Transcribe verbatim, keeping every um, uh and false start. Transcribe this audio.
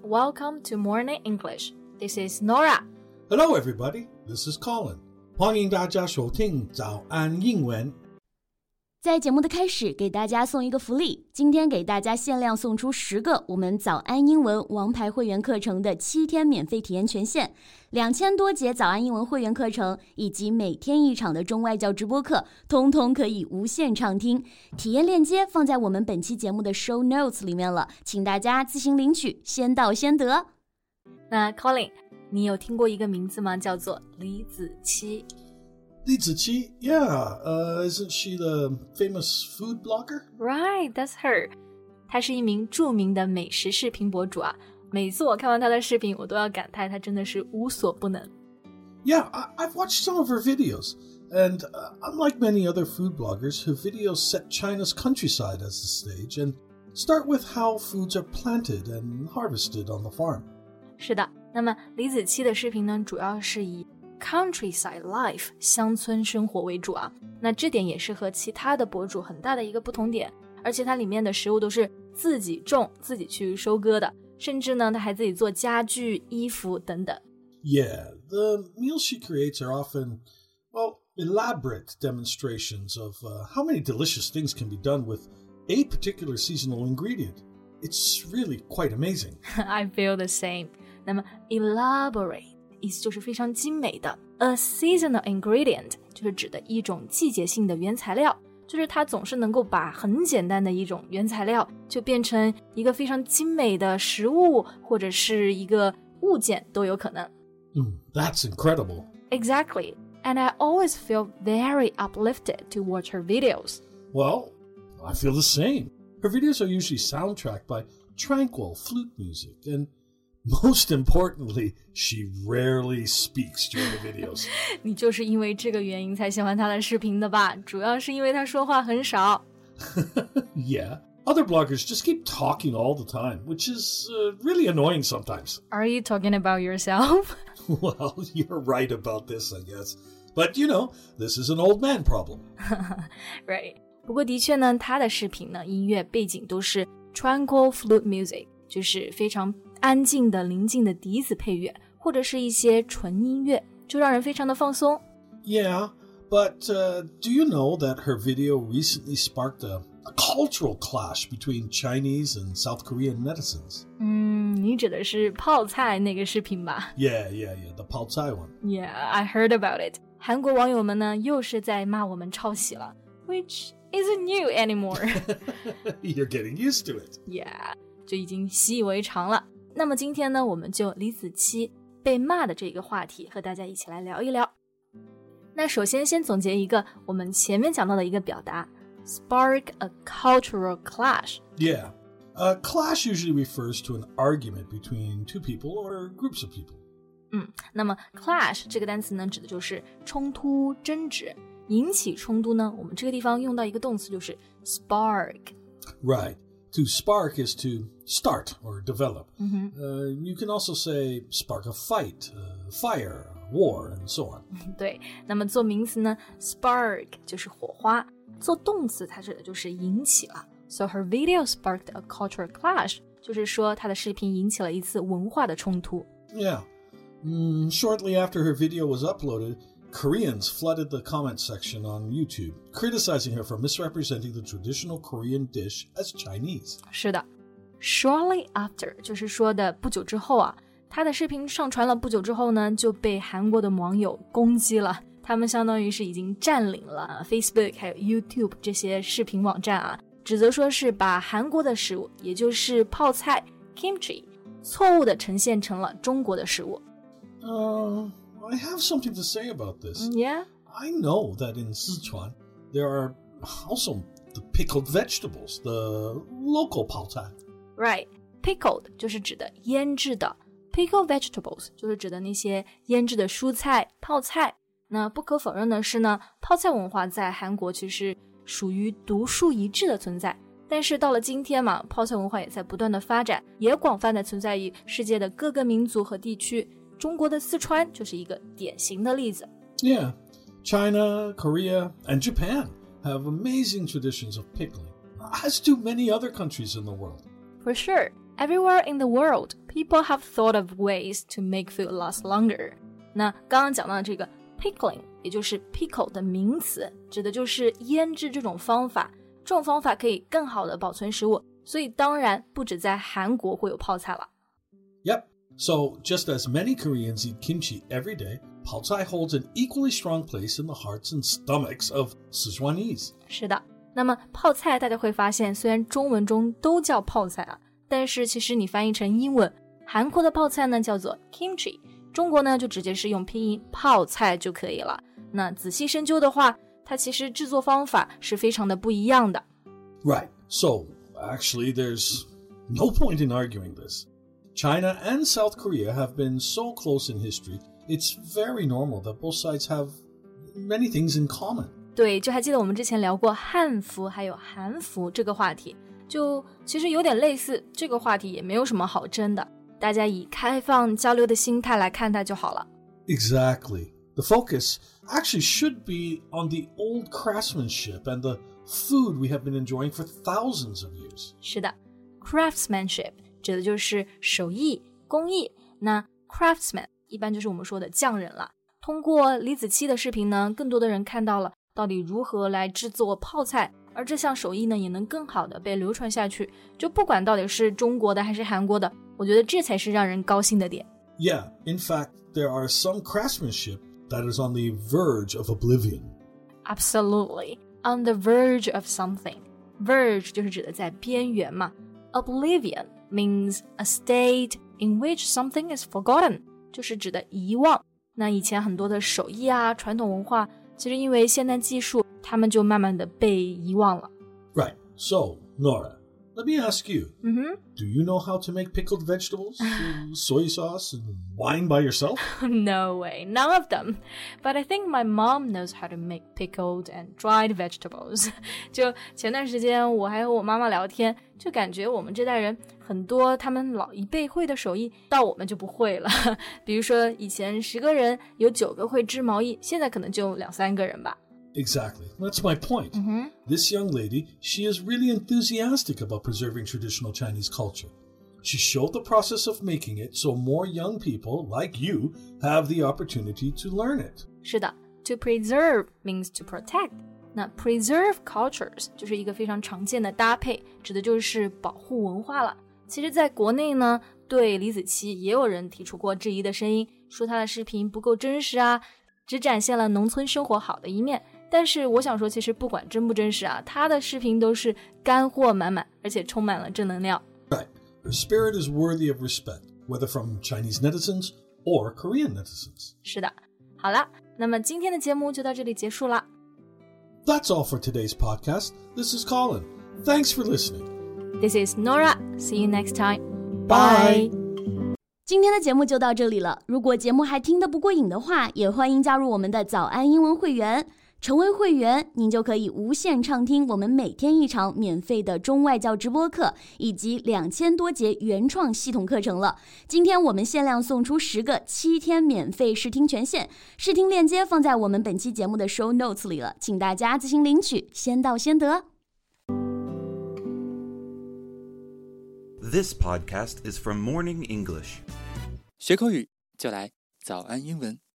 welcome to Morning English. This is Nora. Hello, everybody. This is Colin. 欢迎大家收听早安英文。 在节目的开始，给大家送一个福利，今天给大家限量送出十个我们早安英文王牌会员课程的七天免费体验权限，两千多节早安英文会员课程以及每天一场的中外教直播课，通通可以无限畅听。体验链接放在我们本期节目的 show notes 里面了，请大家自行领取，先到先得。 那 Colin， 你有听过一个名字吗？叫做李子柒。 李子柒 Yeah, uh, isn't she the famous food blogger? Right, that's her. 她是一名著名的美食视频博主啊。每次我看完她的视频，我都要感叹她真的是无所不能。 Yeah, I- I've watched some of her videos. And uh, unlike many other food bloggers, her videos set China's countryside as the stage and start with how foods are planted and harvested on the farm. 是的，那么李子柒的视频呢，主要是以Countryside life 乡村生活为主啊，那这点也是和其他的博主很大的一个不同点，而且它里面的食物都是自己种自己去收割的，甚至呢它还自己做家具、衣服等等。 Yeah, the meals she creates are often, well, elaborate demonstrations of uh, how many delicious things can be done with a particular seasonal ingredient. It's really quite amazing. I feel the same. 那么 elaborate意思就是非常精美的 A seasonal ingredient 就是指的一种季节性的原材料，就是它总是能够把很简单的一种原材料就变成一个非常精美的食物或者是一个物件都有可能。 Mm, that's incredible. Exactly. And I always feel very uplifted to watch her videos. Well, I feel the same. Her videos are usually soundtracked by tranquil flute music and most importantly, she rarely speaks during the videos. 你就是因为这个原因才喜欢她的视频的吧？主要是因为她说话很少。 Yeah. Other bloggers just keep talking all the time, which is uh, really annoying sometimes. Are you talking about yourself? Well, you're right about this, I guess. But, you know, this is an old man problem. Right. 不过的确呢，她的视频呢，音乐背景都是 tranquil flute music， 就是非常安静的宁静的笛子配乐，或者是一些纯音乐，就让人非常的放松。 Yeah, but uh, do you know that her video recently sparked a, a cultural clash between Chinese and South Korean netizens? 嗯，你指的是泡菜那个视频吧？ Yeah, yeah, yeah, the Pao Cai one. Yeah, I heard about it. 韩国网友们呢，又是在骂我们抄袭了 which isn't new anymore. You're getting used to it. Yeah, 就已经习以为常了。那么今天呢，我们就李子柒被骂的这个话题和大家一起来聊一聊。那首先先总结一个我们前面讲到的一个表达 spark a cultural clash. Yeah. A clash usually refers to an argument between two people or groups of people. 嗯，那么 clash 这个单词呢，指的就是冲突、争执。引起冲突呢，我们这个地方用到一个动词就是 spark. Right. To spark is to start or develop. Mm-hmm. Uh, you can also say spark a fight, uh, fire, war, and so on. 对，那么做名词呢 spark 就是火花，做动词它指的就是引起了。So her video sparked a cultural clash， 就是说她的视频引起了一次文化的冲突。 Yeah. Mm, shortly after her video was uploaded, Koreans flooded the comment section on YouTube, criticizing her for misrepresenting the traditional Korean dish as Chinese. 是的 Shortly after 就是说的不久之后啊，她的视频上传了不久之后呢，就被韩国的网友攻击了。他们相当于是已经占领了 Facebook 还有 YouTube 这些视频网站啊，指责说是把韩国的食物，也就是泡菜 kimchi 错误的呈现成了中国的食物。 Uh, I have something to say about this. Yeah? I know that in Sichuan, there are also the pickled vegetables, the local pao cai. Right. Pickled 就是指的腌制的 Pickled vegetables 就是指的那些腌制的蔬菜、泡菜。那不可否认的是呢，泡菜文化在韩国其实属于独树一帜的存在。但是到了今天嘛，泡菜文化也在不断的发展，也广泛的存在于世界的各个民族和地区。中国的四川就是一个典型的例子。 Yeah, China, Korea, and Japan have amazing traditions of pickling, as do many other countries in the world. For sure, everywhere in the world, people have thought of ways to make food last longer. 那刚刚讲到的这个 pickling 也就是 pickle 的名词，指的就是腌制这种方法，这种方法可以更好的保存食物，所以当然不止在韩国会有泡菜了。 Yep, so just as many Koreans eat kimchi every day, 泡菜 holds an equally strong place in the hearts and stomachs of Sichuanese. 是的，那么泡菜大家会发现虽然中文中都叫泡菜啊，但是其实你翻译成英文，韩国的泡菜呢叫做 kimchi， 中国呢就直接是用拼音泡菜就可以了。那仔细深究的话，它其实制作方法是非常的不一样的。 Right, so actually there's no point in arguing this. China and South Korea have been so close in history, it's very normal that both sides have many things in common. 对，就还记得我们之前聊过汉服还有韩服这个话题，就其实有点类似，这个话题也没有什么好争的，大家以开放交流的心态来看待就好了。 Exactly. The focus actually should be on the old craftsmanship and the food we have been enjoying for thousands of years. 是的， craftsmanship 指的就是手艺、工艺，那 craftsman 一般就是我们说的匠人了。通过李子柒的视频呢，更多的人看到了到底如何来制作泡菜，而这项手艺呢也能更好的被流传下去，就不管到底是中国的还是韩国的，我觉得这才是让人高兴的点。 Yeah, in fact, there are some craftsmanship that is on the verge of oblivion. Absolutely, on the verge of something. Verge 就是指的在边缘嘛。Oblivion means a state in which something is forgotten， 就是指的遗忘。那以前很多的手艺啊、传统文化，其实因为现代技术，他们就慢慢的被遗忘了。 Right, so, Nora, let me ask you, Mm-hmm. do you know how to make pickled vegetables, soy sauce, and wine by yourself? No way, none of them. But I think my mom knows how to make pickled and dried vegetables. 就前段时间我还和我妈妈聊天，就感觉我们这代人很多他们老一辈会的手艺，到我们就不会了。比如说以前十个人有九个会织毛衣，现在可能就两三个人吧。 Exactly. That's my point. Mm-hmm. This young lady, she is really enthusiastic about preserving traditional Chinese culture. She showed the process of making it so more young people, like you, have the opportunity to learn it. 是的， to preserve means to protect. 那 preserve cultures 就是一个非常常见的搭配，指的就是保护文化了。其实在国内呢，对李子柒也有人提出过质疑的声音，说她的视频不够真实啊，只展现了农村生活好的一面。但是我想说，其实不管真不真实啊，她的视频都是干货满满，而且充满了正能量。 Right. Her spirit is worthy of respect, whether from Chinese netizens or Korean netizens. 是的，好了，那么今天的节目就到这里结束了。 That's all for today's podcast. This is Colin. Thanks for listening. This is Nora. See you next time. Bye. 今天的节目就到这里了。如果节目还听得不过瘾的话，也欢迎加入我们的早安英文会员。成为会员，您就可以无限畅听我们每天一场免费的中外教直播课，以及两千多节原创系统课程了。今天我们限量送出十个七天免费试听权限，试听链接放在我们本期节目的 show notes 里了，请大家自行领取，先到先得。 This podcast is from Morning English. 学口语就来早安英文。